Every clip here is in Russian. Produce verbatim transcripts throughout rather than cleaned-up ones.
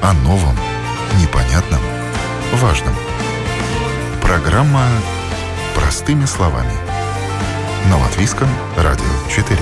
О новом, непонятном, важном. Программа «Простыми словами» на Латвийском радио четыре.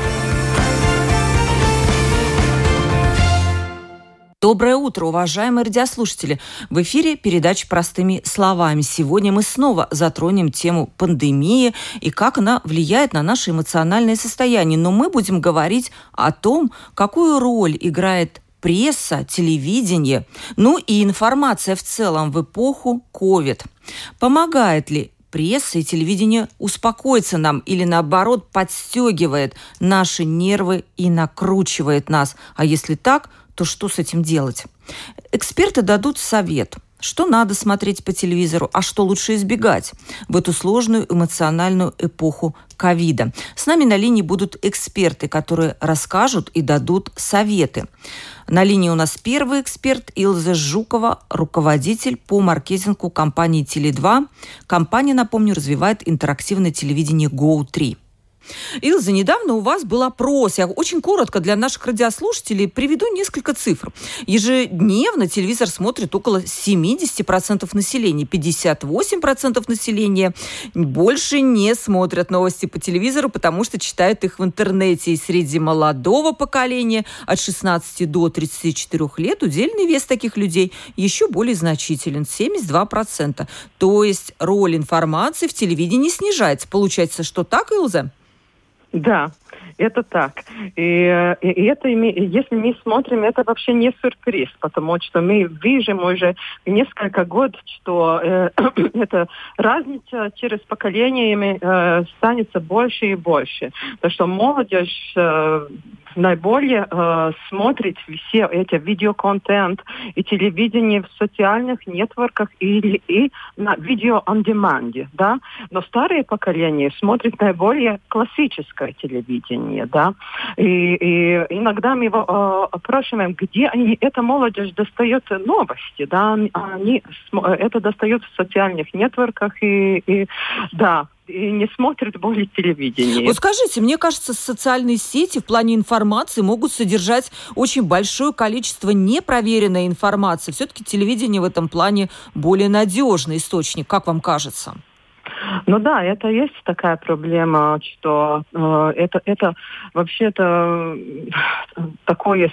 Доброе утро, уважаемые радиослушатели! В эфире передача «Простыми словами». Сегодня мы снова затронем тему пандемии и как она влияет на наше эмоциональное состояние. Но мы будем говорить о том, какую роль играет пресса, телевидение, ну и информация в целом в эпоху ковид. Помогает ли пресса и телевидение успокоиться нам или, наоборот, подстегивает наши нервы и накручивает нас? А если так, то что с этим делать? Эксперты дадут совет, что надо смотреть по телевизору, а что лучше избегать в эту сложную эмоциональную эпоху ковида. С нами на линии будут эксперты, которые расскажут и дадут советы. На линии у нас первый эксперт Илза Жукова, руководитель по маркетингу компании теле два. Компания, напомню, развивает интерактивное телевидение гоу три. Илза, недавно у вас был опрос. Я очень коротко для наших радиослушателей приведу несколько цифр. Ежедневно телевизор смотрит около семьдесят процентов населения. пятьдесят восемь процентов населения больше не смотрят новости по телевизору, потому что читают их в интернете. И среди молодого поколения от шестнадцати до тридцати четырёх лет удельный вес таких людей еще более значителен – семьдесят два процента. То есть роль информации в телевидении снижается. Получается, что так, Илза? Да, это так. И, и, и это, если мы смотрим, это вообще не сюрприз, потому что мы видим уже несколько год, что э, эта разница через поколениями э, станется больше и больше. Потому что молодежь э, наиболее э, смотрит все эти видеоконтент и телевидение в социальных нетворках или и на видео-он-деманде, да. Но старые поколения смотрят наиболее классическое телевидение, да. И, и иногда мы его э, опрашиваем, где они, эта молодежь достает новости, да. Они это достают в социальных нетворках и, и да. И не смотрят более телевидение. Вот скажите, мне кажется, социальные сети в плане информации могут содержать очень большое количество непроверенной информации. Все-таки телевидение в этом плане более надежный источник. Как вам кажется? Ну да, это есть такая проблема, что э, это, это вообще-то такое,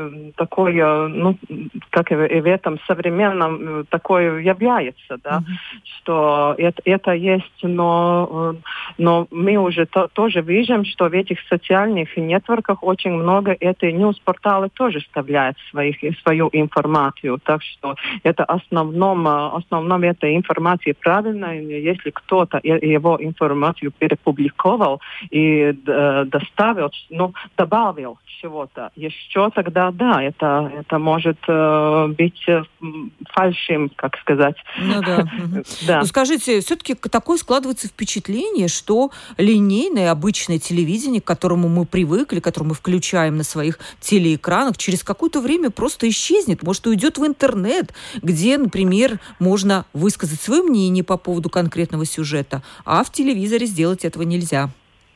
такое, ну, как и в этом современном, такое является, да, mm-hmm. что это, это есть, но, но мы уже то, тоже видим, что в этих социальных нетворках очень много этой ньюс-порталы тоже вставляют своих, свою информацию, так что это основном, основном этой информации правильно, если кто-то его информацию перепубликовал и э, доставил, ну, добавил чего-то еще, тогда да, это, это может э, быть э, фальшивым, как сказать. Ну да. да. Ну, скажите, все-таки такое складывается впечатление, что линейное обычное телевидение, к которому мы привыкли, которое мы включаем на своих телеэкранах, через какое-то время просто исчезнет, может, уйдет в интернет, где, например, можно высказать свое мнение по поводу конкретного сюжета, а в телевизоре сделать этого нельзя.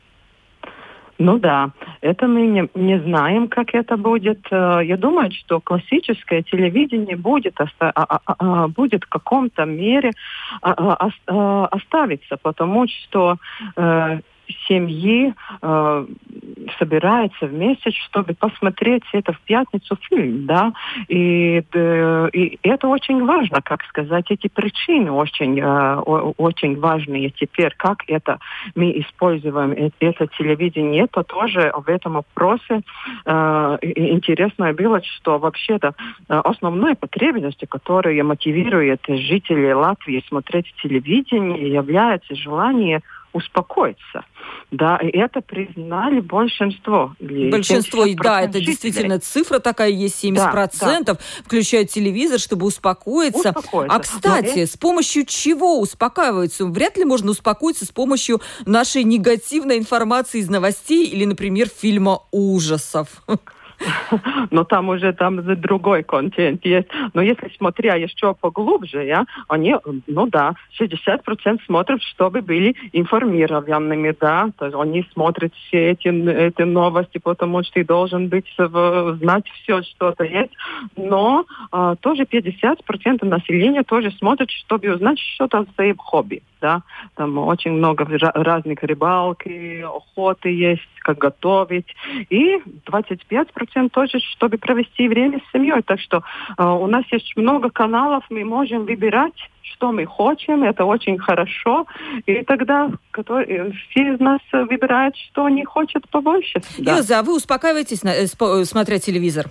Ну да, это мы не, не знаем, как это будет. Я думаю, что классическое телевидение будет, оста- а, а, а, будет в каком-то мере а, а, оставиться, потому что э, семьи э, собираются вместе, чтобы посмотреть это в пятницу фильм, да, и, э, и это очень важно, как сказать, эти причины очень, э, очень важные теперь, как это мы используем это телевидение, это тоже в этом вопросе э, интересно было, что вообще-то основной потребностью, которая мотивирует жителей Латвии смотреть телевидение, является желание успокоиться. Да, и это признали большинство. Большинство, да, это жителей. Действительно цифра такая есть, семьдесят процентов, да, да. включают телевизор, чтобы успокоиться. успокоиться. А, кстати, Но с помощью чего успокаиваются? Вряд ли можно успокоиться с помощью нашей негативной информации из новостей или, например, фильма ужасов. но там уже там другой контент есть. Но если смотря еще поглубже, я, они, ну да, шестьдесят процентов смотрят, чтобы были информированными, да, то есть они смотрят все эти, эти новости, потому что ты должен быть, знать все, что-то есть, но а, тоже пятьдесят процентов населения тоже смотрят, чтобы узнать что-то о своем хобби, да, там очень много разных рыбалки, охоты есть, как готовить, и двадцать пять процентов тоже, чтобы провести время с семьей. Так что э, у нас есть много каналов, мы можем выбирать, что мы хотим, это очень хорошо, и тогда который, все из нас выбирают, что они хотят побольше. Да. Илза, а вы успокаиваетесь, смотря телевизор?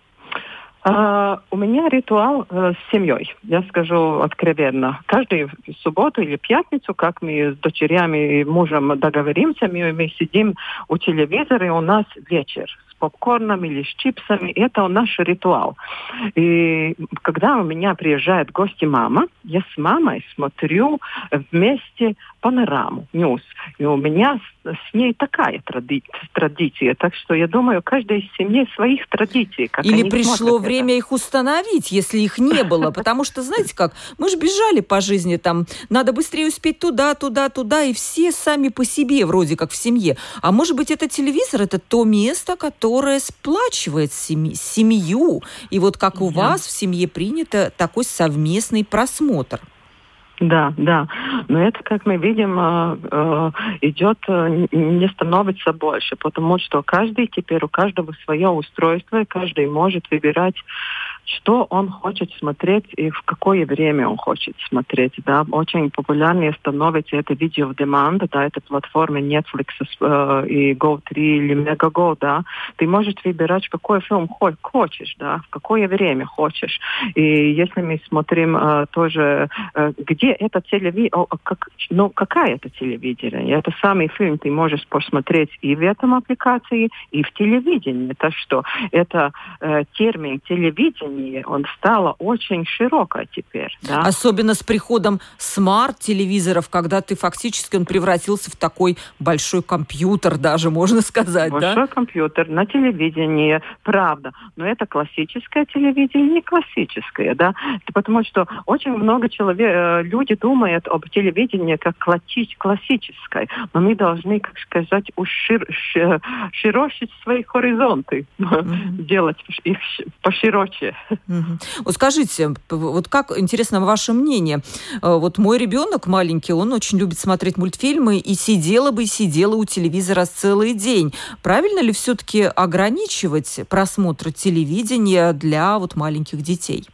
Uh, у меня ритуал uh, с семьей, я скажу откровенно. Каждую субботу или пятницу, как мы с дочерями и мужем договоримся, мы, мы сидим у телевизора, и у нас вечер с попкорном или с чипсами. Это наш ритуал. И когда у меня приезжает гости мама, я с мамой смотрю вместе панораму, ньюс. И у меня с, с ней такая тради- традиция. Так что я думаю, каждая из семей своих традиций. Как Или они пришло время это. их установить, если их не было. Потому что, знаете как, мы же бежали по жизни, там, надо быстрее успеть туда, туда, туда, и все сами по себе, вроде как в семье. А может быть, это телевизор, это то место, которое сплачивает семь- семью. И вот как у Да. вас в семье принято такой совместный просмотр. Да, да. Но это, как мы видим, идет, не становится больше, потому что каждый теперь, у каждого свое устройство, и каждый может выбирать, что он хочет смотреть и в какое время он хочет смотреть. Да. Очень популярнее становится это видео в demand, да, это платформы Netflix э, и Go три или Megago, да. Ты можешь выбирать, какой фильм хочешь, да, в какое время хочешь. И если мы смотрим э, тоже, э, где это телевидение, как, ну, какая это телевидение? Это самый фильм ты можешь посмотреть и в этом аппликации, и в телевидении. Так что это э, термин телевидение, он стал очень широко теперь. Да? Особенно с приходом смарт-телевизоров, когда ты фактически он превратился в такой большой компьютер даже, можно сказать, большой да? Большой компьютер на телевидении, правда. Но это классическое телевидение, не классическое, да? Потому что очень много человек, люди думают об телевидении как классическое, но мы должны, как сказать, ушир, широчить свои горизонты, mm-hmm. делать их пошироче. Угу. Вот скажите, вот как, интересно, ваше мнение. Вот мой ребенок маленький, он очень любит смотреть мультфильмы, и сидела бы и сидела у телевизора целый день. Правильно ли все-таки ограничивать просмотр телевидения для вот маленьких детей?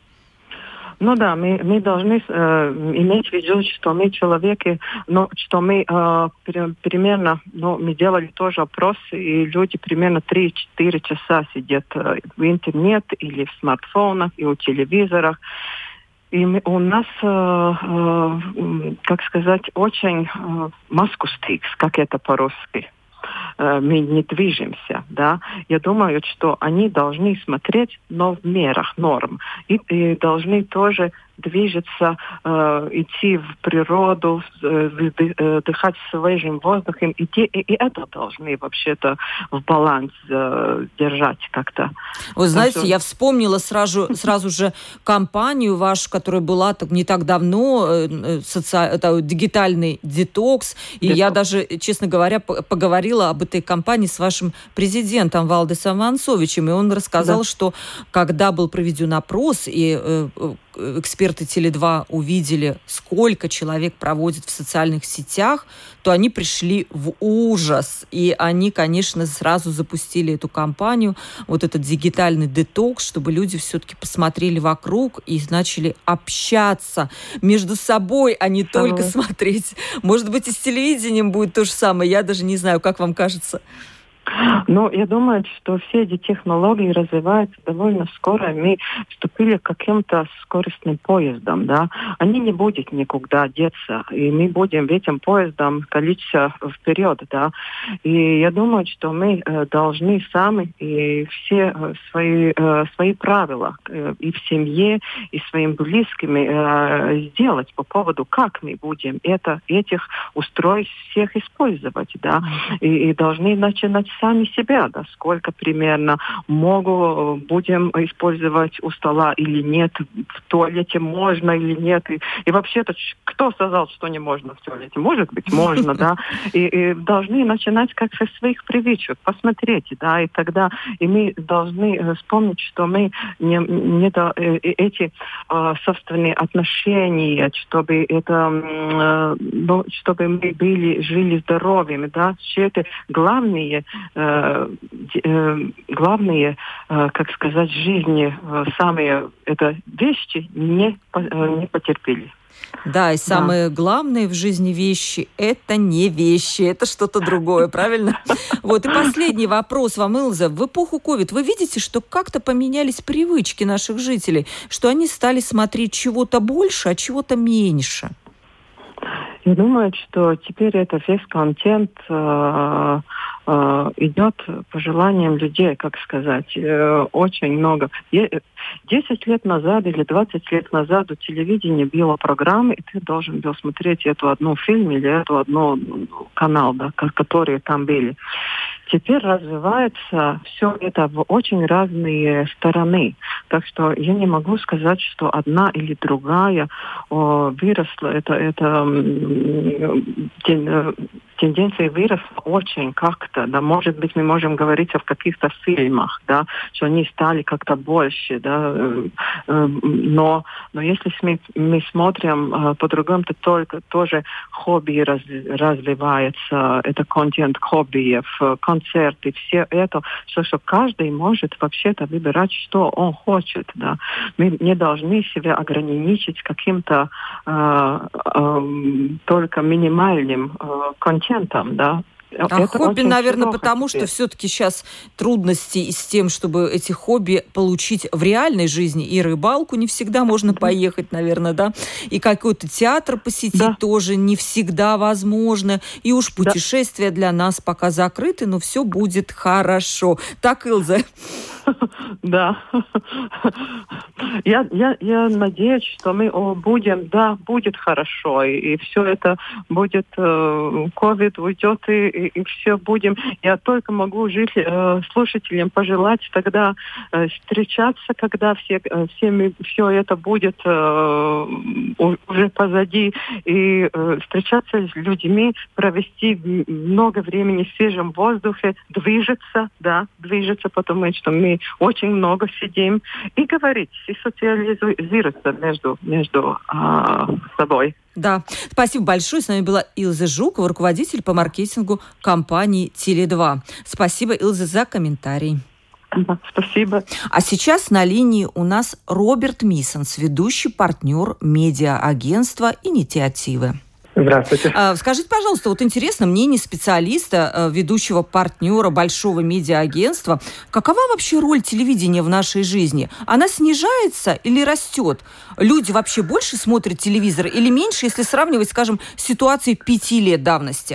Ну да, мы, мы должны э, иметь в виду, что мы человеки, ну, что мы э, примерно, ну, мы делали тоже опрос, и люди примерно три-четыре часа сидят э, в интернете или в смартфонах, и у телевизорах. И мы, у нас, э, э, как сказать, очень э, маскустикс, как это по-русски. Мы не движемся, да. Я думаю, что они должны смотреть, но в мерах норм. И, и должны тоже движется, э, идти в природу, э, дыхать свежим воздухом. И, те, и, и это должны вообще-то в баланс э, держать как-то. Вы знаете, что... я вспомнила сразу, сразу же кампанию вашу, которая была так, не так давно, э, соци... это, дигитальный детокс. И детокс. Я даже, честно говоря, поговорила об этой кампании с вашим президентом Валдисом Вансовичем. И он рассказал, да. что когда был проведен опрос, и э, эксперты Теле два увидели, сколько человек проводит в социальных сетях, то они пришли в ужас. И они, конечно, сразу запустили эту кампанию, вот этот дигитальный детокс, чтобы люди все-таки посмотрели вокруг и начали общаться между собой, а не Самое. только смотреть. Может быть, и с телевидением будет то же самое. Я даже не знаю, как вам кажется. Ну, я думаю, что все эти технологии развиваются довольно скоро. Мы вступили к каким-то скоростным поездам, да. Они не будут никуда деться, и мы будем этим поездом количество вперед, да. И я думаю, что мы э, должны сами и все э, свои, э, свои правила э, и в семье, и своим близким э, сделать по поводу, как мы будем это, этих устройств всех использовать, да. И, и должны начинать с сами себя, да, сколько примерно могу, будем использовать у стола или нет, в туалете можно или нет. И, и вообще-то, кто сказал, что не можно в туалете? Может быть, можно, да. И, и должны начинать как со своих привычек, посмотреть, да, и тогда и мы должны вспомнить, что мы не, не до, эти э, собственные отношения, чтобы это, э, чтобы мы были, жили здоровыми, да, все это главные, э, э, главные, э, как сказать, жизни, э, самые это вещи не, э, не потерпели. Да, и самое да. главное в жизни вещи – это не вещи, это что-то другое, правильно? Вот, и последний вопрос вам, Илза. В эпоху ковид вы видите, что как-то поменялись привычки наших жителей, что они стали смотреть чего-то больше, а чего-то меньше? Я думаю, что теперь это весь контент э, э, идет по желаниям людей, как сказать, э, очень много. Десять лет назад или двадцать лет назад у телевидения было программы, и ты должен был смотреть эту одну фильм или эту одну канал, да, которые там были. Теперь развивается все это в очень разные стороны. Так что я не могу сказать, что одна или другая о, выросла. Это, это тен, тенденция выросла очень как-то. Да. Может быть, мы можем говорить о каких-то фильмах, да, что они стали как-то больше. Да. Но, но если мы, мы смотрим по-другому, то только тоже хобби раз, развивается. Это контент хоббиев, концерты, все это, что, что каждый может вообще-то выбирать, что он хочет. Да. Мы не должны себя ограничить каким-то э, э, только минимальным э, контентом, да. А это хобби, наверное, потому теперь. Что все-таки сейчас трудности с тем, чтобы эти хобби получить в реальной жизни. И рыбалку не всегда можно поехать, наверное, да? И какой-то театр посетить да. тоже не всегда возможно. И уж путешествия да. для нас пока закрыты, но все будет хорошо. Так, Илза? Да. Я, я, я надеюсь, что мы будем, да, будет хорошо. И, и все это будет, ковид э, уйдет, и, и, и все будем. Я только могу жить, э, слушателям пожелать тогда э, встречаться, когда все, э, всеми, все это будет э, уже позади, и э, встречаться с людьми, провести много времени в свежем воздухе, движется, да, движется, потому что мы очень много сидим, и говорить, и социализироваться между, между а, собой. Да, спасибо большое. С нами была Илза Жукова, руководитель по маркетингу компании Теле два. Спасибо, Илза, за комментарий. Да, спасибо. А сейчас на линии у нас Роберт Миссенс, ведущий партнер медиа-агентства «Инициативы». Здравствуйте. Скажите, пожалуйста, вот интересно мнение специалиста, ведущего партнера большого медиа-агентства. Какова вообще роль телевидения в нашей жизни? Она снижается или растет? Люди вообще больше смотрят телевизор или меньше, если сравнивать, скажем, с ситуацией пяти лет давности?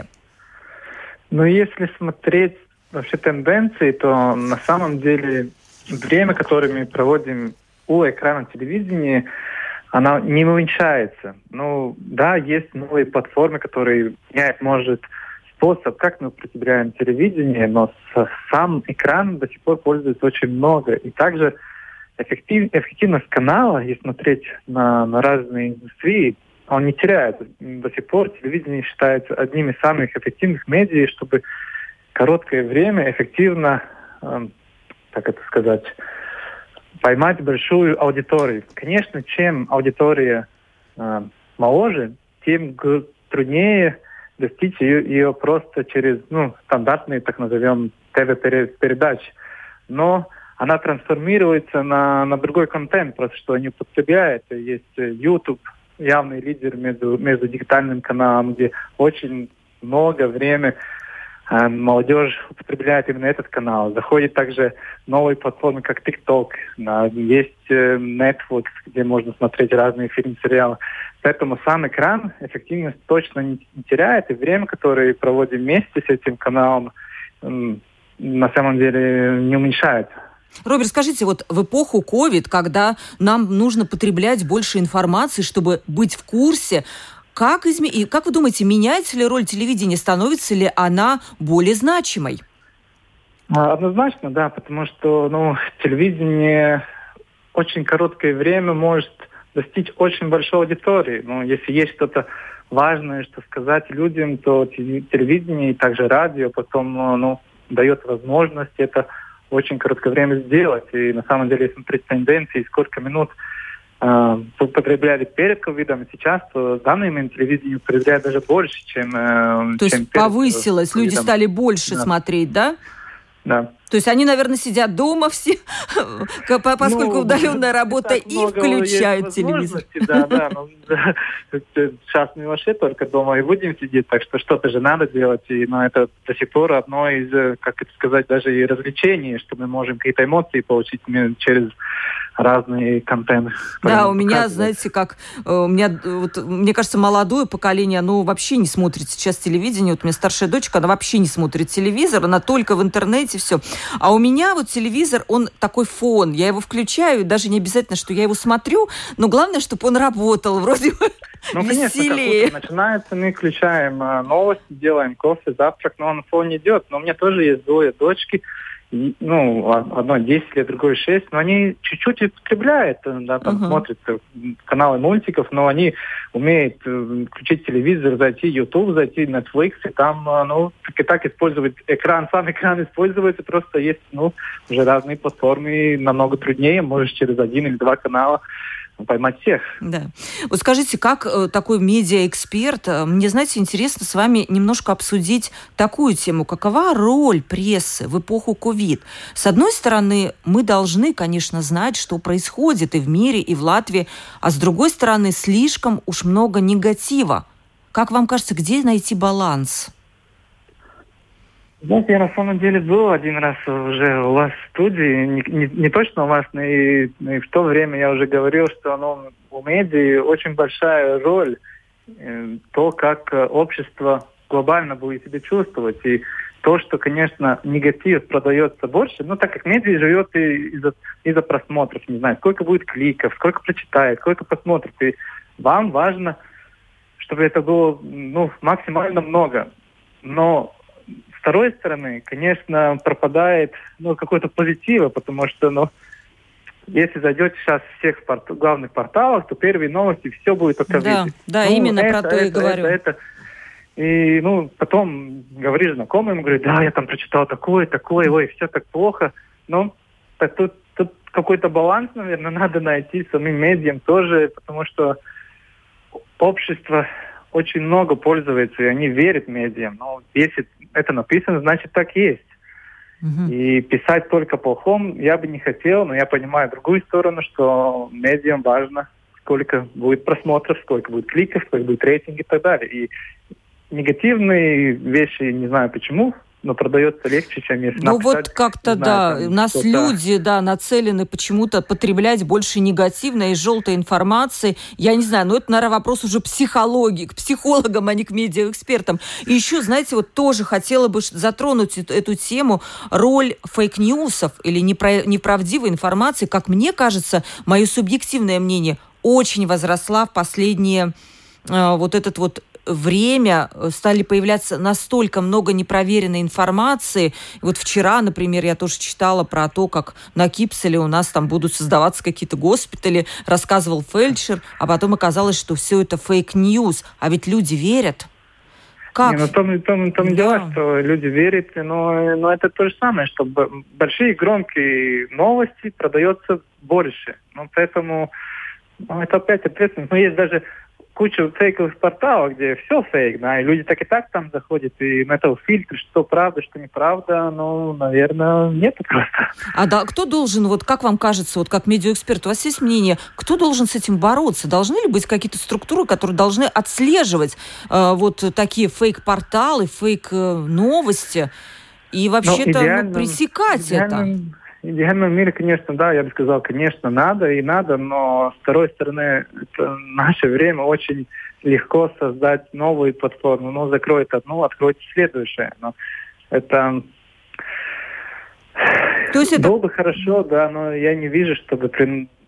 Ну, если смотреть вообще тенденции, то на самом деле время, которое мы проводим у экрана телевидения, она не уменьшается. Ну, да, есть новые платформы, которые меняют, может, способ, как мы употребляем телевидение, но сам экран до сих пор пользуется очень много. И также эффектив, эффективность канала, если смотреть на, на разные индустрии, он не теряет. До сих пор телевидение считается одним из самых эффективных медиа, чтобы короткое время эффективно, э, как это сказать, поймать большую аудиторию. Конечно, чем аудитория э, моложе, тем г- труднее достичь ее, ее просто через ну, стандартные, так назовем, ТВ-передачи. Но она трансформируется на, на другой контент, просто что они употребляют. Есть YouTube, явный лидер между, между дигитальным каналом, где очень много времени молодежь употребляет именно этот канал. Заходит также новые платформы, как TikTok, есть Netflix, где можно смотреть разные фильмы, сериалы. Поэтому сам экран эффективность точно не теряет, и время, которое проводим вместе с этим каналом, на самом деле не уменьшается. Роберт, скажите, вот в эпоху ковид, когда нам нужно потреблять больше информации, чтобы быть в курсе, Как, изме... И как вы думаете, меняется ли роль телевидения, становится ли она более значимой? Однозначно, да, потому что ну, телевидение очень короткое время может достичь очень большой аудитории. Ну, если есть что-то важное, что сказать людям, то телевидение и также радио потом ну, дает возможность это в очень короткое время сделать. И на самом деле, если смотреть тенденции, сколько минут э, потребляли перед ковидом, сейчас то в данный момент телевидение потребляет даже больше, чем э, То чем есть перед повысилось, ковидом. люди стали больше да. смотреть, да? Да. То есть они, наверное, сидят дома все, поскольку ну, удаленная работа, и включают телевизор. Да, да, ну, да. Сейчас мы вообще только дома и будем сидеть, так что что-то же надо делать. И, ну, это до сих пор одно из, как это сказать, даже и развлечений, что мы можем какие-то эмоции получить через разные контенты. Да, у меня, знаете, как у меня, вот, мне кажется, молодое поколение, оно вообще не смотрит сейчас телевидение. Вот у меня старшая дочка, она вообще не смотрит телевизор, она только в интернете, все. А у меня вот телевизор, он такой фон. Я его включаю, даже не обязательно, что я его смотрю, но главное, чтобы он работал, вроде бы ну, веселее. Конечно, начинается, мы включаем новости, делаем кофе, завтрак, но он фон идет. Но у меня тоже есть двое дочки, ну, одно десять лет, другое шесть, но они чуть-чуть употребляют, да, там uh-huh. смотрят каналы мультиков, но они умеют включить телевизор, зайти в YouTube, зайти в Netflix, и там, ну, так и так использовать экран, сам экран используется, просто есть, ну, уже разные платформы, и намного труднее, можешь через один или два канала поймать всех. Да. Вот скажите, как э, такой медиаэксперт, э, мне, знаете, интересно с вами немножко обсудить такую тему. Какова роль прессы в эпоху ковид? С одной стороны, мы должны, конечно, знать, что происходит и в мире, и в Латвии, а с другой стороны, слишком уж много негатива. Как вам кажется, где найти баланс? Знаете, я на самом деле был один раз уже у вас в студии, не, не, не точно у вас, но и, но и в то время я уже говорил, что ну, у медиа очень большая роль э, то, как общество глобально будет себя чувствовать. И то, что, конечно, негатив продается больше, ну, так как медиа живет и из-за, из-за просмотров, не знаю, сколько будет кликов, сколько прочитает, сколько посмотрит. И вам важно, чтобы это было ну, максимально много. Но с второй стороны, конечно, пропадает ну, какой-то позитива, потому что, ну, если зайдете сейчас в всех порт... главных порталах, то первые новости, все будет о ковиде. Да, да, ну, именно это, про то это, и говорю. Это, это. И, ну, потом говоришь знакомым, говорит, да, я там прочитал такое, такое, ой, все так плохо. Ну, так тут, тут какой-то баланс, наверное, надо найти самим медиам тоже, потому что общество очень много пользуется, и они верят медиам. Но если это написано, значит, так есть. Uh-huh. И писать только плохом я бы не хотел, но я понимаю другую сторону, что медиам важно, сколько будет просмотров, сколько будет кликов, сколько будет рейтинг и так далее. И негативные вещи, не знаю почему, но продается легче, чем если ну написать. Ну вот как-то, да, у нас что-то... люди, да, нацелены почему-то потреблять больше негативной и желтой информации. Я не знаю, но это, наверное, вопрос уже психологии, к психологам, а не к медиаэкспертам. И еще, знаете, вот тоже хотела бы затронуть эту тему, роль фейк-ньюсов или неправдивой информации, как мне кажется, мое субъективное мнение, очень возросла в последние э, вот этот вот время, стали появляться настолько много непроверенной информации. Вот вчера, например, я тоже читала про то, как на Кипселе у нас там будут создаваться какие-то госпитали, рассказывал фельдшер, а потом оказалось, что все это фейк-ньюс. А ведь люди верят. Как? Не, ну, том, том, том да. дело, что люди верят, но, но это то же самое, что большие громкие новости продается больше. Ну, поэтому ну, это опять ответственность. Но есть даже куча фейковых порталов, где все фейк, да, и люди так и так там заходят, и на это фильтр, что правда, что неправда, ну, наверное, нет просто. А да, кто должен, вот как вам кажется, вот как медиаэксперт, у вас есть мнение, кто должен с этим бороться? Должны ли быть какие-то структуры, которые должны отслеживать э, вот такие фейк-порталы, фейк-новости и вообще-то ну, пресекать идеально... это? В идеальном мире, конечно, да, я бы сказал, конечно, надо и надо, но с второй стороны, это в наше время очень легко создать новую платформу. Ну, закроет одну, откроет следующее. Но это... То есть это... Было бы хорошо, да, но я не вижу, чтобы при...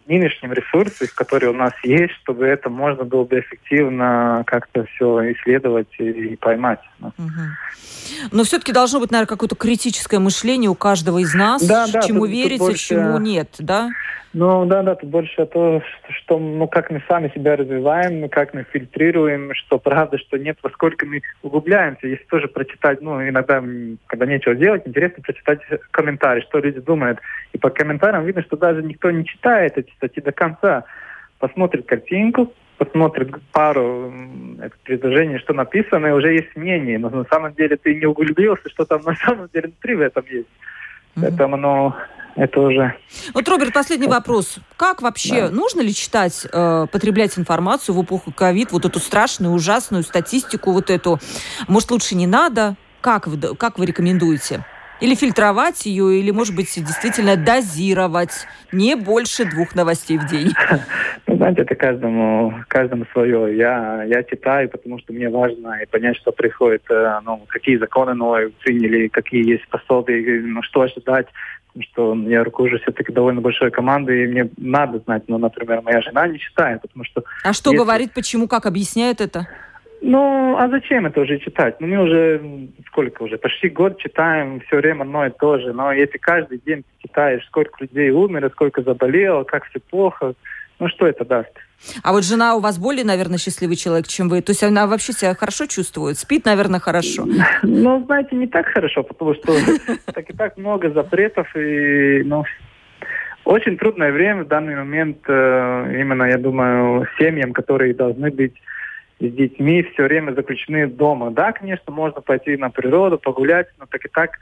нынешним ресурсам, которые у нас есть, чтобы это можно было бы эффективно как-то все исследовать и поймать. Угу. Но все-таки должно быть, наверное, какое-то критическое мышление у каждого из нас, да, да, чему тут, верить, тут больше... а чему нет, да? Ну, да, да, тут больше то, что, что, ну, как мы сами себя развиваем, как мы фильтрируем, что правда, что нет, во сколько мы углубляемся. Если тоже прочитать, ну, иногда, когда нечего делать, интересно прочитать комментарии, что люди думают. И по комментариям видно, что даже никто не читает эти статьи до конца. Посмотрит картинку, посмотрит пару это, предложений, что написано, и уже есть мнение. Но на самом деле ты не углубился, что там на самом деле внутри в этом есть. Mm-hmm. Поэтому, ну... Это уже... Вот, Роберт, последний вопрос. Как вообще, да. нужно ли читать, э, потреблять информацию в эпоху ковид, вот эту страшную, ужасную статистику, вот эту? Может, лучше не надо? Как вы, как вы рекомендуете? Или фильтровать ее, или, может быть, действительно дозировать не больше двух новостей в день? Ну, знаете, это каждому, каждому свое. Я, я читаю, потому что мне важно понять, что происходит, ну, какие законы новые приняли, какие есть пособия, ну, что ожидать. Потому что я руковожу все-таки довольно большой командой, и мне надо знать. Ну, например, моя жена не читает, потому что... А что если... говорит, почему, как объясняет это? Ну, а зачем это уже читать? Ну, мы уже, сколько уже, почти год читаем все время одно и то же. Но если каждый день читаешь, сколько людей умерло, сколько заболело, как все плохо, ну, что это даст? А вот жена у вас более, наверное, счастливый человек, чем вы. То есть она вообще себя хорошо чувствует? Спит, наверное, хорошо? Ну, знаете, не так хорошо, потому что так и так много запретов. И, ну, очень трудное время в данный момент. Именно, я думаю, семьям, которые должны быть с детьми, все время заключены дома. Да, конечно, можно пойти на природу, погулять, но так и так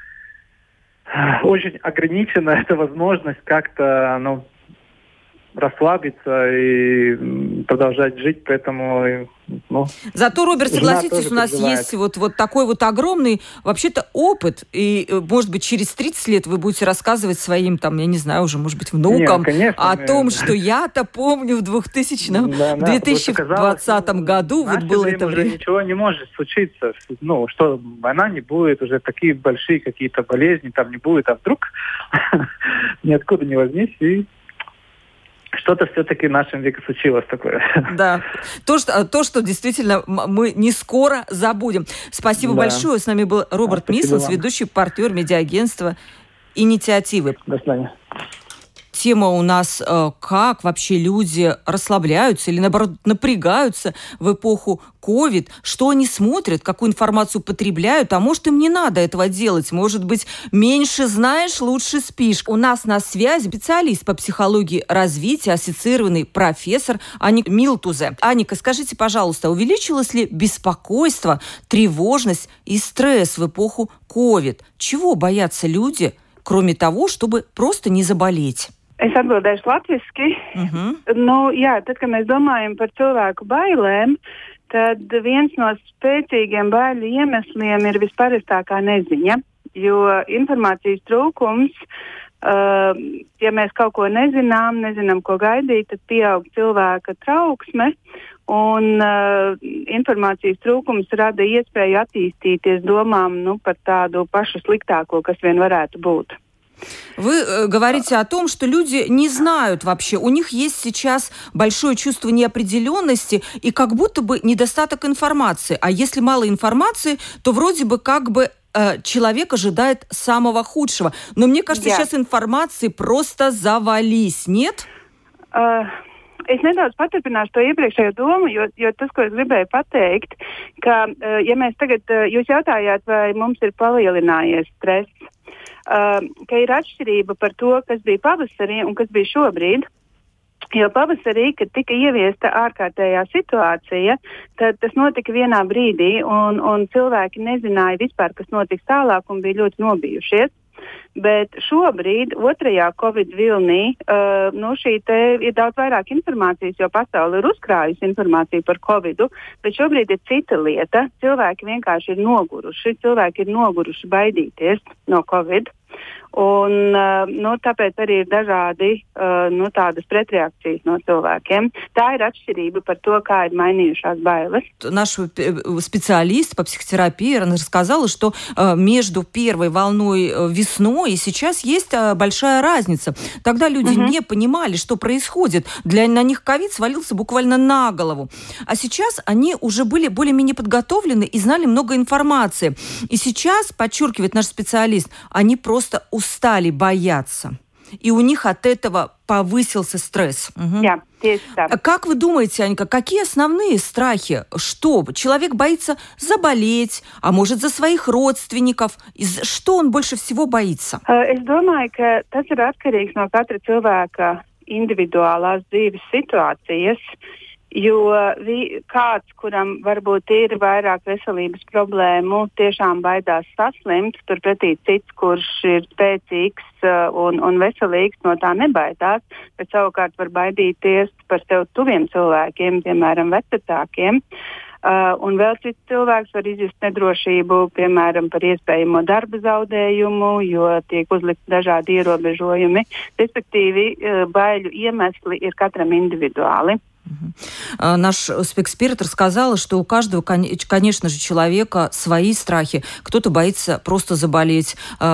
очень ограничена эта возможность как-то, ну, расслабиться и продолжать жить, поэтому... Ну, Зато, Роберт, согласитесь, у нас переживает. Есть вот, вот такой вот огромный, вообще-то, опыт, и, может быть, через тридцать лет вы будете рассказывать своим, там, я не знаю, уже, может быть, внукам, Нет, конечно, о том, что я-то помню в двухтысячном, да, да, две тысячи двадцатом году вот было это время. Уже ничего не может случиться, ну, что война не будет, уже такие большие какие-то болезни там не будет, а вдруг ниоткуда не возьмись, и что-то все-таки в нашем веке случилось такое. Да, то, что, то, что действительно мы не скоро забудем. Спасибо да. большое. С нами был Роберт да, Мислс, ведущий партнер медиагентства «Инициативы». До свидания. Тема у нас, как вообще люди расслабляются или, наоборот, напрягаются в эпоху ковид, что они смотрят, какую информацию потребляют, а может, им не надо этого делать. Может быть, меньше знаешь, лучше спишь. У нас на связи специалист по психологии развития, ассоциированный профессор Аника Милтузе. Аника, скажите, пожалуйста, увеличилось ли беспокойство, тревожность и стресс в эпоху ковид? Чего боятся люди, кроме того, чтобы просто не заболеть? Es atbildēšu latviski. Uh-huh. Nu, jā, tad, kad mēs domājam par cilvēku bailēm, tad viens no spēcīgiem baiļu iemesliem ir visparastākā neziņa, jo informācijas trūkums, uh, ja mēs kaut ko nezinām, nezinām, ko gaidīt, tad pieaug cilvēka trauksme, un uh, informācijas trūkums rada iespēju attīstīties domām, nu, par tādu pašu sliktāko, kas vien varētu būt. Вы э, говорите о том, что люди не знают вообще. У них есть сейчас большое чувство неопределенности и как будто бы недостаток информации. А если мало информации, то вроде бы как бы э, человек ожидает самого худшего. Но мне кажется, yeah. сейчас информации просто завались, нет? Uh... Es nedaudz paturpināšu to iepriekšējo domu, jo, jo tas, ko es gribēju pateikt, ka, ja mēs tagad, jūs jautājāt, vai mums ir palielinājies stress, ka ir atšķirība par to, kas bija pavasarī un kas bija šobrīd. Jo pavasarī, kad tika ieviesta ārkārtējā situācija, tad tas notika vienā brīdī, un, un cilvēki nezināja vispār, kas notiks tālāk, un bija ļoti nobijušies. Bet šobrīd, otrajā Covid vilnī, uh, nu šī te ir daudz vairāk informācijas, jo pasaule ir uzkrājusi informāciju par Covidu, bet šobrīd ir cita lieta. Cilvēki vienkārši ir noguruši, cilvēki ir noguruši baidīties no Covid. Un, uh, nu, tāpēc arī ir dažādi uh, nu, tādas pretreakcijas no cilvēkiem. Tā ir atšķirība par то, kā ir mainījušās bailes. Наш специалист по психотерапии рассказала, что э, между первой волной весной зимой, и сейчас есть большая разница. Тогда люди угу. не понимали, что происходит. Для, на них ковид свалился буквально на голову. А сейчас они уже были более-менее подготовлены и знали много информации. И сейчас, подчеркивает наш специалист, они просто устали бояться. И у них от этого повысился стресс. Угу. Yeah, yes, yeah. Как вы думаете, Анька, какие основные страхи? Что? Человек боится заболеть, а может, за своих родственников? Что он больше всего боится? Es domāju, ka tas ir atkarīgs no katra cilvēka individuālās dzīves situācijas. Jo vi, kāds, kuram varbūt ir vairāk veselības problēmu, tiešām baidās saslimt, turpretī cits, kurš ir spēcīgs uh, un, un veselīgs, no tā nebaidās, bet savukārt var baidīties par sev tuviem cilvēkiem, piemēram, vecākiem. Uh, un vēl cits cilvēks var izjust nedrošību, piemēram, par iespējamo darba zaudējumu, jo tiek uzlikti dažādi ierobežojumi. Respektīvi, uh, baiļu iemesli ir katram individuāli. Наш спецэксперт рассказала, что у каждого, конечно же, человека свои страхи. Кто-то боится просто заболеть,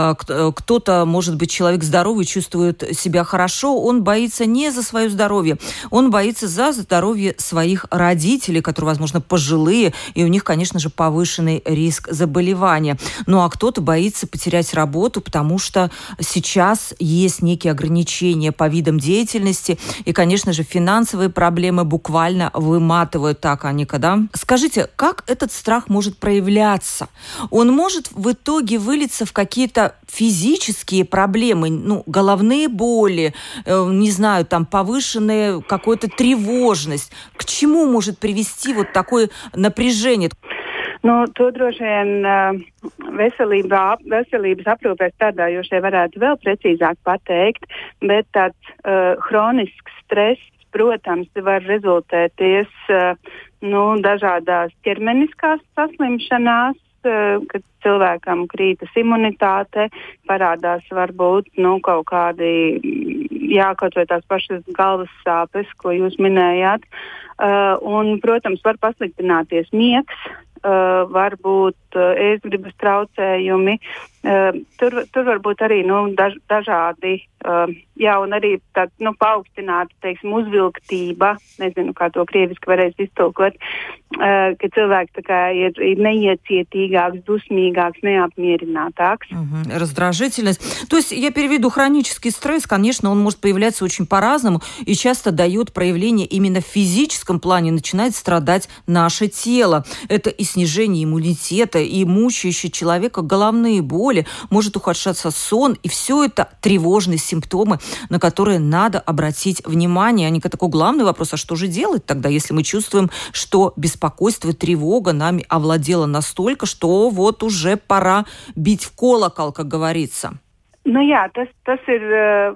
кто-то, может быть, человек здоровый, чувствует себя хорошо, он боится не за свое здоровье, он боится за здоровье своих родителей, которые, возможно, пожилые, и у них, конечно же, повышенный риск заболевания. Ну а кто-то боится потерять работу, потому что сейчас есть некие ограничения по видам деятельности, и, конечно же, финансовые проблемы буквально выматывают, так, Аника, да? Скажите, как этот страх может проявляться? Он может в итоге вылиться в какие-то физические проблемы, ну, головные боли, э, не знаю, там, повышенная какая-то тревожность. К чему может привести вот такое напряжение? Nu, to droši vien uh, veselībā, veselības aprūpē strādājošie varētu vēl precīzāk pateikt, bet tāds uh, hronisks stress, protams, var rezultēties uh, nu, dažādās ķermeniskās saslimšanās, uh, kad cilvēkam krītas imunitāte, parādās varbūt nu, kaut kādi, jā, kaut vai tās pašas galvas sāpes, ko jūs minējāt, uh, un, protams, var pasliktināties miegs, uh, varbūt uh, ēstgribas traucējumi, uh, tur, tur varbūt arī nu, daž, dažādi, uh, jā, un arī tā, nu, paaugstināta, teiksim, uzvilktība, nezinu, kā to krieviski varēs iztulkot, uh, ka cilvēks tā kā ir, ir neiecietīgāks, dusmīgāks, неопмеренатакс. Угу. Раздражительность. То есть, я переведу, хронический стресс, конечно, он может появляться очень по-разному и часто дает проявление именно в физическом плане, начинает страдать наше тело. Это и снижение иммунитета, и мучающие человека головные боли, может ухудшаться сон, и все это тревожные симптомы, на которые надо обратить внимание. Аника, такой главный вопрос, а что же делать тогда, если мы чувствуем, что беспокойство и тревога нами овладела настолько, что вот уже пора бить в колокол, как говорится? Nu jā, tas, tas ir uh,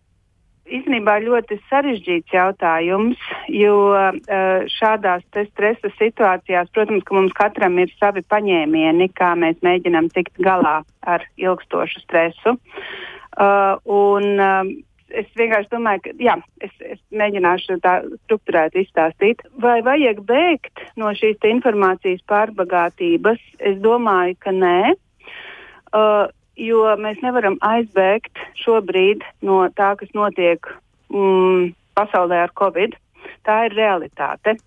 īstenībā ļoti sarežģīts jautājums, jo uh, šādās te stresa situācijās, protams, ka mums katram ir savi paņēmieni, kā mēs mēģinām tikt galā ar ilgstošu stresu. Uh, un uh, es vienkārši domāju, ka, jā, es, es mēģināšu tā strukturēt izstāstīt. Vai vajag bēgt no šīs te informācijas pārbagātības? Es domāju, ka nē, uh, jo mēs nevaram aizbēgt šobrīd no tā, kas notiek mm, pasaulē ar Covid. Tā ir realitāte.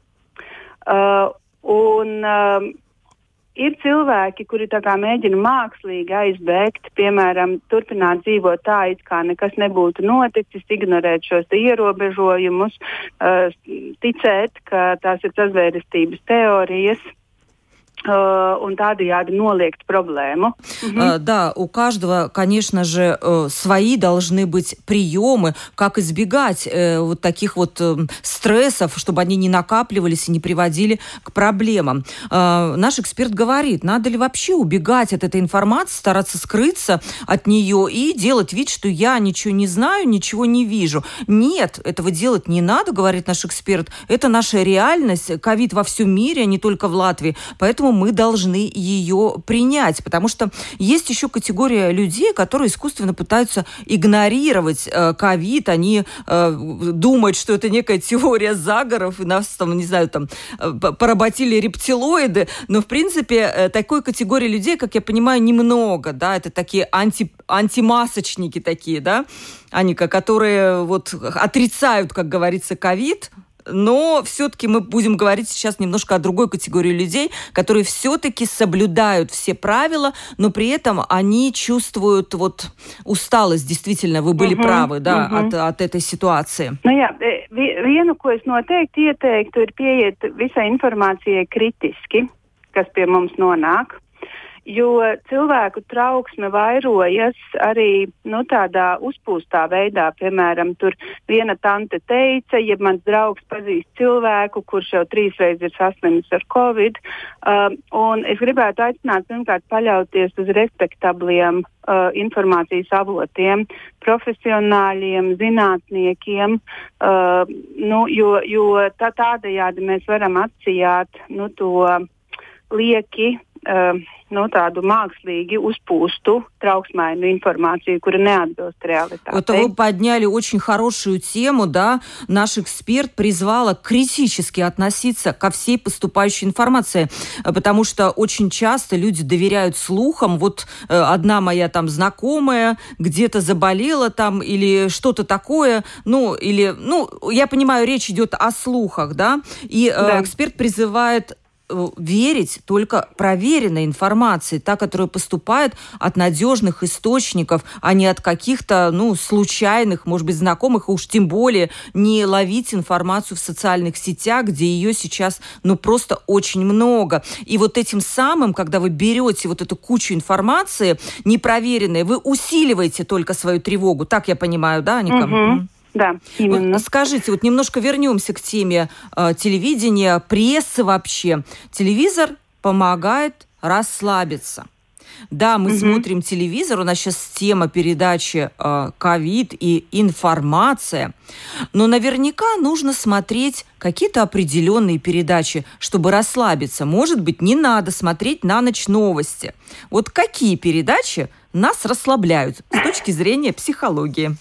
Uh, un uh, ir cilvēki, kuri tā kā mēģina mākslīgi aizbēgt, piemēram, turpināt dzīvot tā, it kā nekas nebūtu noticis, ignorēt šos ierobežojumus, uh, ticēt, ka tās ir sazvērestības teorijas. Un тādējādi нолegt проблему. Uh, да, у каждого, конечно же, свои должны быть приемы, как избегать uh, вот таких вот uh, стрессов, чтобы они не накапливались и не приводили к проблемам. Uh, наш эксперт говорит, надо ли вообще убегать от этой информации, стараться скрыться от нее и делать вид, что я ничего не знаю, ничего не вижу. Нет, этого делать не надо, говорит наш эксперт. Это наша реальность. Ковид во всем мире, а не только в Латвии. Поэтому поэтому мы должны ее принять, потому что есть еще категория людей, которые искусственно пытаются игнорировать ковид, э, они э, думают, что это некая теория заговоров, и нас там, не знаю, там поработили рептилоиды, но в принципе такой категории людей, как я понимаю, немного, да, это такие анти, антимасочники такие, да, они, которые вот отрицают, как говорится, ковид. Но все-таки мы будем говорить сейчас немножко о другой категории людей, которые все-таки соблюдают все правила, но при этом они чувствуют вот усталость. Действительно, вы были uh-huh, правы, да, uh-huh. от, от этой ситуации. Nu jā, vienu, ko es noteikti ieteiktu, ir pieiet visai informācijai kritiski, kas pie mums nonāk. Jo cilvēku trauksme vairojas arī nu, tādā uzpūstā veidā. Piemēram, tur viena tante teica, ja mans draugs pazīst cilvēku, kurš jau trīsreiz ir saslimis ar covid. Uh, un es gribētu aicināt pirmkārt paļauties uz respektabliem uh, informācijas avotiem, profesionāļiem, zinātniekiem, uh, nu, jo, jo tā, tādējādi mēs varam atsijāt nu, to lieki, uh, ну, tādu mākslīgi uzpūstu, трauksmainu информацию, которая не ответствует реальности. Вот вы подняли очень хорошую тему, да. Наш эксперт призвала критически относиться ко всей поступающей информации, потому что очень часто люди доверяют слухам. Вот э, одна моя там знакомая где-то заболела там или что-то такое, ну, или, ну, я понимаю, речь идет о слухах, да, и э, да. эксперт призывает верить только проверенной информации, та, которая поступает от надежных источников, а не от каких-то, ну, случайных, может быть, знакомых, и уж тем более не ловить информацию в социальных сетях, где ее сейчас, ну, просто очень много. И вот этим самым, когда вы берете вот эту кучу информации непроверенной, вы усиливаете только свою тревогу. Так я понимаю, да, Аника? Угу. Да, именно. Вот скажите, вот немножко вернемся к теме э, телевидения, прессы вообще. Телевизор помогает расслабиться. Да, мы угу. смотрим телевизор, у нас сейчас тема передачи ковид э, и информация, но наверняка нужно смотреть какие-то определенные передачи, чтобы расслабиться. Может быть, не надо смотреть на ночь новости. Вот какие передачи нас расслабляют с точки зрения психологии?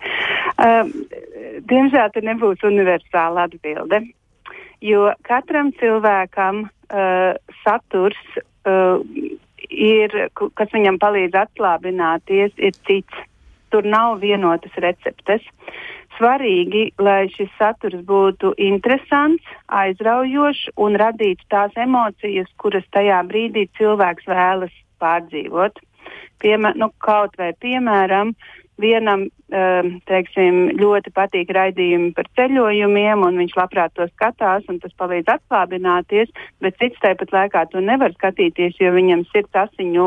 Uh, diemžēl te nebūs universāla atbilde, jo katram cilvēkam uh, saturs, uh, ir, kas viņam palīdz atslābināties, ir cits. Tur nav vienotas receptes. Svarīgi, lai šis saturs būtu interesants, aizraujošs un radītu tās emocijas, kuras tajā brīdī cilvēks vēlas pārdzīvot. Piemēr, nu, kaut vai piemēram, vienam, teiksim, ļoti patīk raidījumi par ceļojumiem, un viņš labprāt to skatās, un tas palīdz atslābināties, bet cits tāpat laikā to nevar skatīties, jo viņam sirds asiņo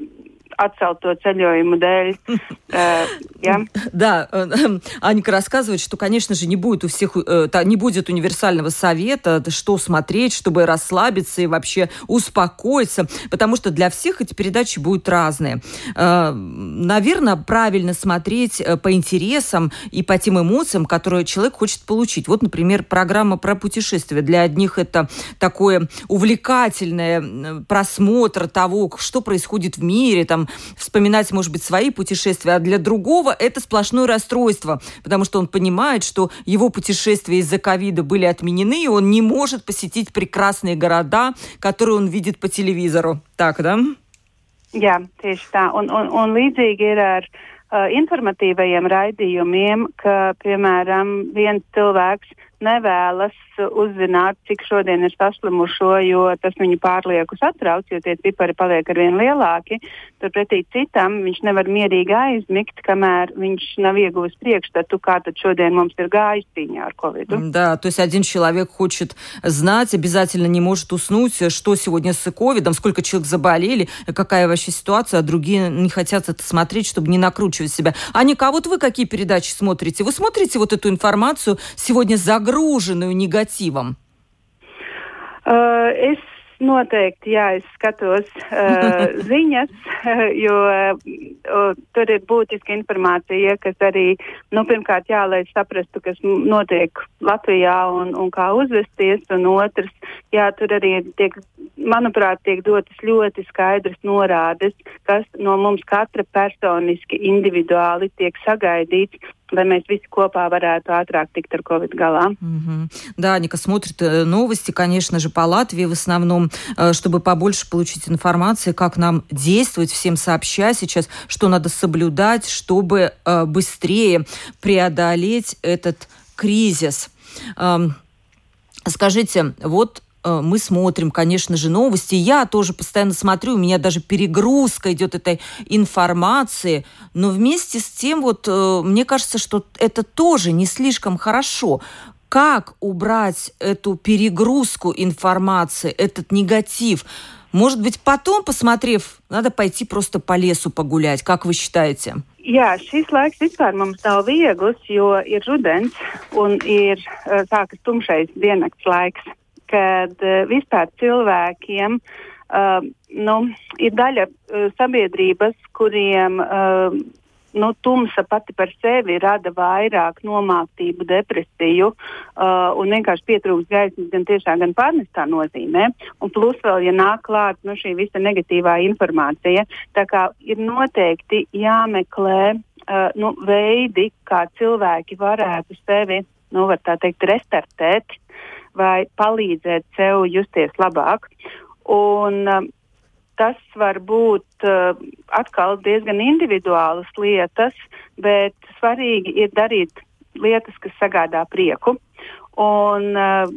отцелто ceļojumu dēļ. Uh, yeah. Да, Аника рассказывает, что, конечно же, не будет у всех, не будет универсального совета, что смотреть, чтобы расслабиться и вообще успокоиться, потому что для всех эти передачи будут разные. Наверное, правильно смотреть по интересам и по тем эмоциям, которые человек хочет получить. Вот, например, программа про путешествия. Для одних это такое увлекательное просмотр того, что происходит в мире, там, вспоминать, может быть, свои путешествия, а для другого это сплошное расстройство, потому что он понимает, что его путешествия из-за ковида были отменены, и он не может посетить прекрасные города, которые он видит по телевизору. Так, да? Jā, tieši tā. Un, un, un līdzīgi ir ar uh, informatīvajiem raidījumiem, ka, piemēram, viens cilvēks nevēlas uzzināt, cik šodien ir saslimušo, jo tas viņu pārlieku satrauc, jo tie cipari paliek arvien lielāki. Turpretī citam viņš nevar mierīgi aizmigt, kamēr viņš nav ieguvis priekšstatu, kā tad šodien mums ir gājis cīņā ar ковиду. Да, то есть один человек хочет знать, обязательно не может уснуть, что сегодня с ковидом, сколько человек заболели, какая вообще ситуация, а другие не хотят это смотреть, чтобы не накручивать себя. Аника, а вот вы какие передачи смотрите? Вы смотрите вот эту информацию сегодня загруженную негативом? Uh, es noteikti, jā, es skatos uh, ziņas, jo uh, tur ir būtiska informācija, kas arī, nu, pirmkārt, jā, lai saprastu, kas notiek Latvijā un, un kā uzvesties, un otrs, jā, tur arī tiek, manuprāt, tiek dotas ļoti skaidras norādes, kas no mums katra personiski, individuāli tiek sagaidīts, lai mēs visi kopā varētu ātrāk tikt ar Covid galā. Mm-hmm. Да, Аника смотрит новости, конечно же, по Латвии в основном, чтобы побольше получить информации, как нам действовать, всем сообща сейчас, что надо соблюдать, чтобы быстрее преодолеть этот кризис. Скажите, вот мы смотрим, конечно же, новости. Я тоже постоянно смотрю, у меня даже перегрузка идет этой информации. Но вместе с тем, вот, мне кажется, что это тоже не слишком хорошо. Как убрать эту перегрузку информации, этот негатив? Может быть, потом, посмотрев, надо пойти просто по лесу погулять. Как вы считаете? Jā, šis laiks vispār mums nav viegls, jo ir rudens un ir sākas tumšais diennakts laiks, kad uh, vispār cilvēkiem uh, nu, ir daļa uh, sabiedrības, kuriem uh, nu, tumsa pati par sevi rada vairāk nomāktību, depresiju uh, un vienkārši pietrūkst gaismas gan tiešā, gan pārnestā nozīmē. Un plus vēl, ja nāk klāt nu, šī visa negatīvā informācija, tā kā ir noteikti jāmeklē uh, nu, veidi, kā cilvēki varētu sevi, nu, var tā teikt, restartēt, vai palīdzēt sev justies labāk. Un uh, tas var būt uh, atkal diezgan individuālas lietas, bet svarīgi ir darīt lietas, kas sagādā prieku. Un, uh,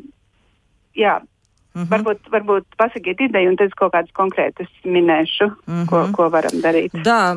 jā, Mm-hmm. Varbūt, varbūt pasakiet ideju, un tad kaut kādas konkrētas minēšu, mm-hmm. ko, ko varam дарить. Да,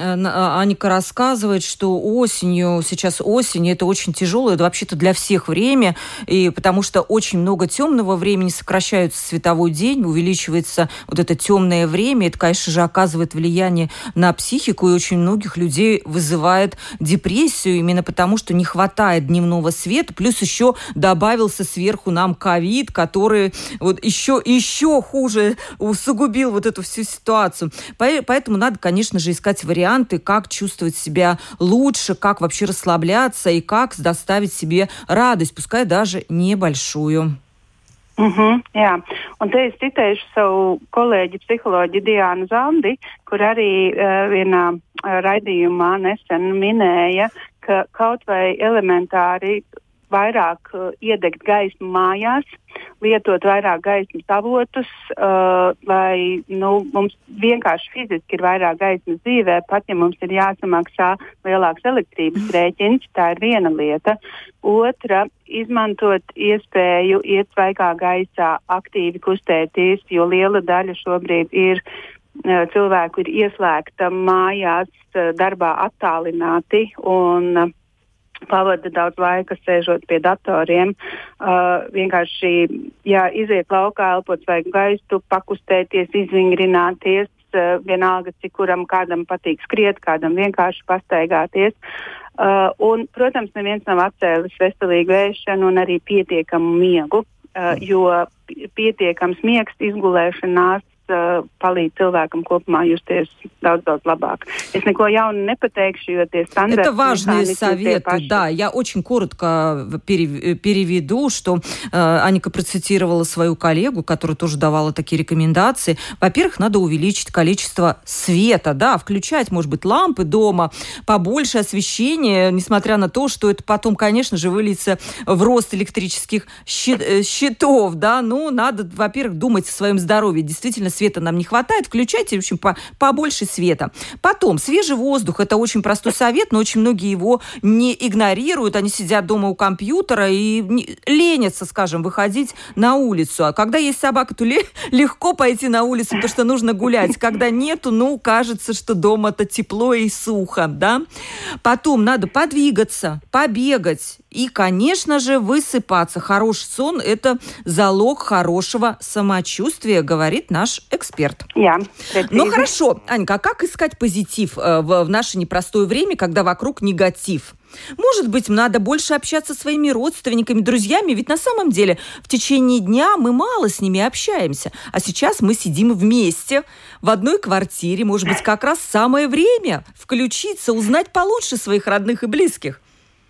Аника рассказывает, что осенью, сейчас осень, это очень тяжелое, это вообще-то для всех время, и потому что очень много темного времени, сокращается световой день, увеличивается вот это темное время, это, конечно же, оказывает влияние на психику, и очень многих людей вызывает депрессию, именно потому что не хватает дневного света, плюс еще добавился сверху нам ковид, который вот еще, еще хуже усугубил вот эту всю ситуацию. Поэтому надо, конечно же, искать варианты, как чувствовать себя лучше, как вообще расслабляться и как доставить себе радость, пускай даже небольшую. Mm-hmm, jā, un te es citēšu savu kolēģi psiholoģi Diānu Zandi, kur arī uh, vienā uh, raidījumā nesen minēja, ka kaut vai elementāri vairāk uh, iedegt gaismu mājās, lietot vairāk gaismas avotus, uh, lai nu, mums vienkārši fiziski ir vairāk gaismas dzīvē, pat ja mums ir jāsamaksā lielāks elektrības rēķins, tā ir viena lieta. Otra, izmantot iespēju iet svaigā gaisā, aktīvi kustēties, jo liela daļa šobrīd ir uh, cilvēku ir ieslēgta mājās, uh, darbā attālināti un uh, pavada daudz laika sēžot pie datoriem, uh, vienkārši, jā, iziet laukā, elpot svaigu gaisu, pakustēties, izvingrināties, uh, vienalga, cik kuram kādam patīk skriet, kādam vienkārši pastaigāties. Uh, un, protams, neviens nav atcēlis veselīgu ēšanu un arī pietiekamu miegu, uh, jo pietiekams miegs, izgulēšanās, palīdz cilvēkam kopumā justies daudz-daudz labāk. Es neko jaunu nepateikšu, jo tie стандарты... Это важные советы, да. Я очень коротко переведу, что э, Аника процитировала свою коллегу, которая тоже давала такие рекомендации. Во-первых, надо увеличить количество света, да, включать, может быть, лампы дома, побольше освещения, несмотря на то, что это потом, конечно же, выльется в рост электрических счетов, да. Ну, надо, во-первых, думать о своем здоровье. Действительно, света нам не хватает, включайте, в общем, по, побольше света. Потом, свежий воздух, это очень простой совет, но очень многие его не игнорируют, они сидят дома у компьютера и не, ленятся, скажем, выходить на улицу. А когда есть собака, то ле- легко пойти на улицу, потому что нужно гулять. Когда нету, ну, кажется, что дома-то тепло и сухо, да. Потом надо подвигаться, побегать. И, конечно же, высыпаться. Хороший сон – это залог хорошего самочувствия, говорит наш эксперт. Yeah, ну хорошо, Анька, а как искать позитив в, в наше непростое время, когда вокруг негатив? Может быть, надо больше общаться со своими родственниками, друзьями, ведь на самом деле в течение дня мы мало с ними общаемся, а сейчас мы сидим вместе в одной квартире, может быть, как раз самое время включиться, узнать получше своих родных и близких.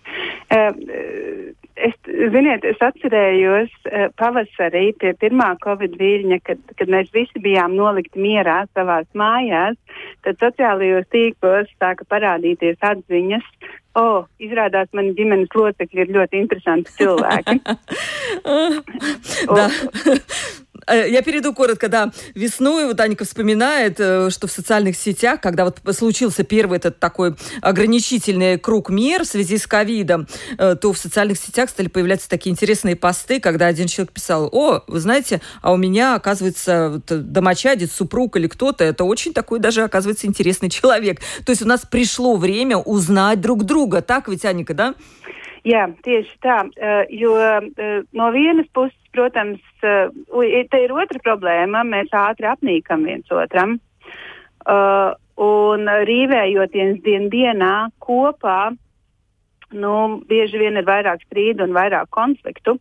Es, ziniet, es atcerējos pavasarī pie pirmā Covid viļņa, kad, kad mēs visi bijām nolikti mierā savās mājās, tad sociālajos tīklos sāka parādīties atziņas. O, oh, izrādās, mani ģimenes locekļi ir ļoti interesanti cilvēki. Да. Я перейду коротко, да. Весной вот Анька вспоминает, что в социальных сетях, когда вот случился первый этот такой ограничительный круг мер в связи с ковидом, то в социальных сетях стали появляться такие интересные посты, когда один человек писал: о, вы знаете, а у меня, оказывается, домочадец, супруг или кто-то, это очень такой даже, оказывается, интересный человек. То есть у нас пришло время узнать друг друга. Так ведь, Анька, да? Jā, tieši tā, jo no vienas puses, protams, te ir otra problēma, mēs ātri apnīkam viens otram, un rīvējoties dien dienā kopā, nu, bieži vien ir vairāk strīdu un vairāk konfliktu,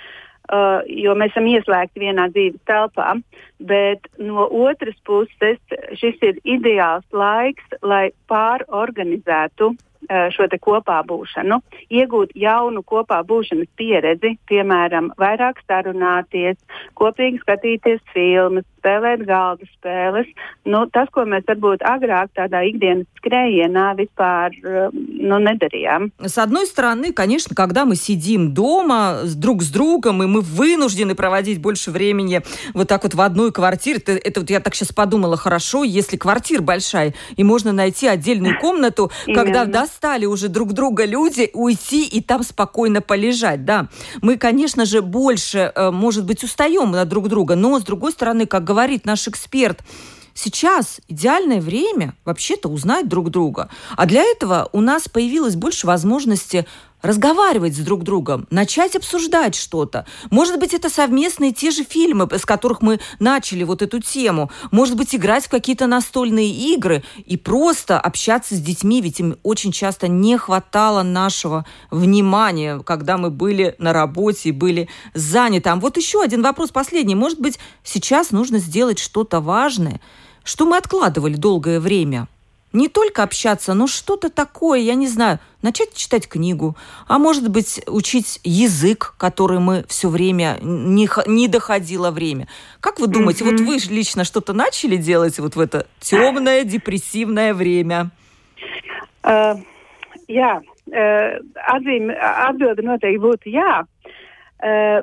jo mēs esam ieslēgti vienā dzīves telpā, bet no otras puses šis ir ideāls laiks, lai pārorganizētu šo te kopā būšanu, iegūt jaunu kopā būšanas pieredzi, piemēram, vairāk sarunāties, kopīgi skatīties filmas, spēlēt galda spēles. Nu, tas, ko mēs varbūt agrāk tādā ikdienas skrējienā vispāр ну, недарьям. С одной стороны, конечно, когда мы сидим дома друг с другом, и мы вынуждены проводить больше времени вот так вот в одной квартире, это, это вот я так сейчас подумала, хорошо, если квартира большая, и можно найти отдельную комнату, когда достали уже друг друга люди, уйти и там спокойно полежать, да. Мы, конечно же, больше, может быть, устаем от друг друга, но, с другой стороны, как говорит наш эксперт, сейчас идеальное время вообще-то узнать друг друга. А для этого у нас появилось больше возможности разговаривать с друг другом, начать обсуждать что-то. Может быть, это совместные те же фильмы, с которых мы начали вот эту тему. Может быть, играть в какие-то настольные игры и просто общаться с детьми, ведь им очень часто не хватало нашего внимания, когда мы были на работе и были заняты. А вот еще один вопрос, последний. Может быть, сейчас нужно сделать что-то важное, что мы откладывали долгое время? Не только общаться, но что-то такое, я не знаю, начать читать книгу, а может быть, учить язык, который мы все время, не, не доходило время. Как вы думаете, mm-hmm. вот вы лично что-то начали делать вот в это темное, депрессивное время? Uh, jā, uh, atzīme, atbilde noteikti būtu jā. Uh,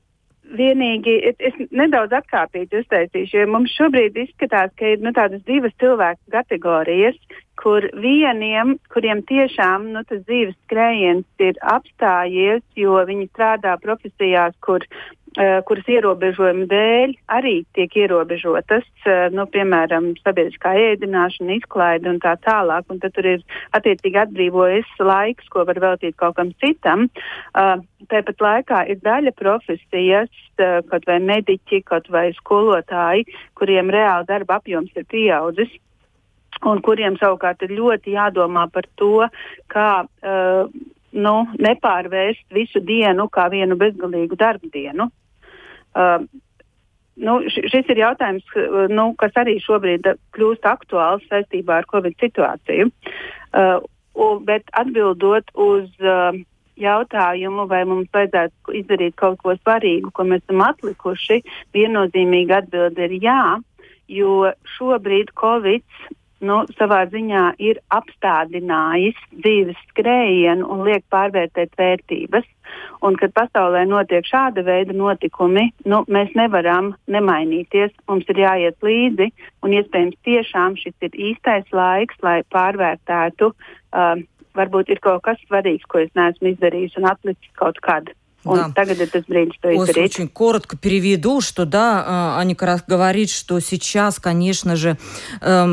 Vienīgi es, es nedaudz atkāpīti uztaisīšu, jo mums šobrīd izskatās, ka ir nu, tādas divas cilvēku kategorijas, kur vieniem, kuriem tiešām nu, tas dzīves skrējiens ir apstājies, jo viņi strādā profesijās, kur, uh, kuras ierobežojuma dēļ arī tiek ierobežotas, uh, nu, piemēram, sabiedriskā ēdināšana, izklaide un tā tālāk, un tad tur ir attiecīgi atbrīvojas laiks, ko var veltīt kaut kam citam. Uh, Tāpat laikā ir daļa profesijas, kaut vai mediķi, kaut vai skolotāji, kuriem reāli darba apjoms ir pieaudzis un kuriem savukārt ir ļoti jādomā par to, kā uh, nu, nepārvērst visu dienu kā vienu bezgalīgu darba dienu. Uh, nu, šis ir jautājums, nu, kas arī šobrīd kļūst aktuāls saistībā ar Covid situāciju. Uh, un, bet atbildot uz uh, jautājumu, vai mums vajadzētu izdarīt kaut ko svarīgu, ko mēs esam atlikuši, viennozīmīgi atbilde ir jā, jo šobrīd Covid nu, savā ziņā ir apstādinājis dzīves skrējienu un liek pārvērtēt vērtības. Un, kad pasaulē notiek šāda veida notikumi, nu, mēs nevaram nemainīties, mums ir jāiet līdzi, un iespējams tiešām šis ir īstais laiks, lai pārvērtētu uh, varbūt ir kaut kas svarīgs, ko es неesmu изdarījis un atlicis kaut kad. Да. Очень коротко переведу, что да, Аня как раз говорит, что сейчас, конечно же, эм,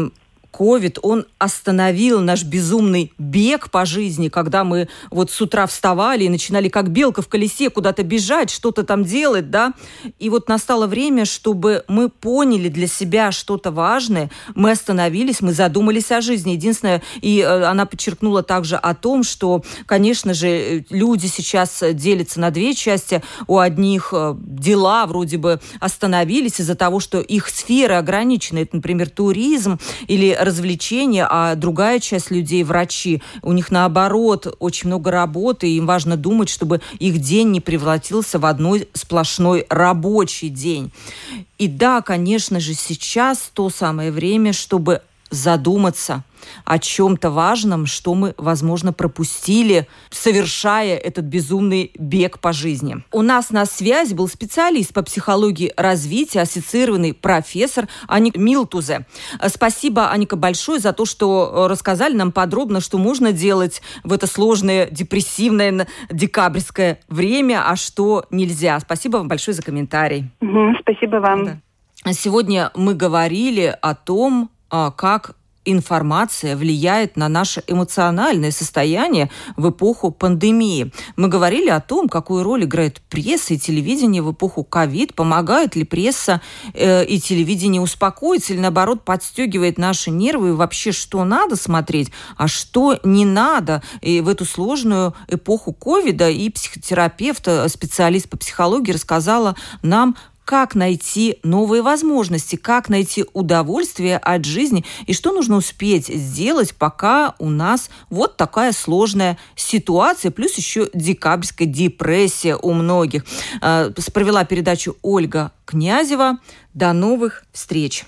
ковид, он остановил наш безумный бег по жизни, когда мы вот с утра вставали и начинали как белка в колесе куда-то бежать, что-то там делать, да. И вот настало время, чтобы мы поняли для себя что-то важное, мы остановились, мы задумались о жизни. Единственное, и она подчеркнула также о том, что, конечно же, люди сейчас делятся на две части. У одних дела вроде бы остановились из-за того, что их сферы ограничены. Это, например, туризм или развлечения, а другая часть людей, врачи, у них наоборот очень много работы, и им важно думать, чтобы их день не превратился в одной сплошной рабочий день. И да, конечно же, сейчас то самое время, чтобы задуматься о чем-то важном, что мы, возможно, пропустили, совершая этот безумный бег по жизни. У нас на связи был специалист по психологии развития, ассоциированный профессор Аника Милтузе. Спасибо, Аника, большое за то, что рассказали нам подробно, что можно делать в это сложное, депрессивное декабрьское время, а что нельзя. Спасибо вам большое за комментарий. Угу, спасибо вам. Да. Сегодня мы говорили о том, как информация влияет на наше эмоциональное состояние в эпоху пандемии. Мы говорили о том, какую роль играет пресса и телевидение в эпоху ковид, помогает ли пресса э, и телевидение успокоить или, наоборот, подстегивает наши нервы, и вообще, что надо смотреть, а что не надо. И в эту сложную эпоху ковида и психотерапевт, специалист по психологии рассказала нам, как найти новые возможности, как найти удовольствие от жизни и что нужно успеть сделать, пока у нас вот такая сложная ситуация, плюс еще декабрьская депрессия у многих. Провела передачу Ольга Князева. До новых встреч!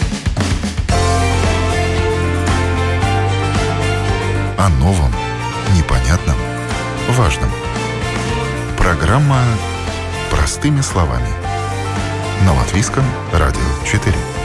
О новом, непонятном, важном. Программа «Простыми словами» на Латвийском радио четыре.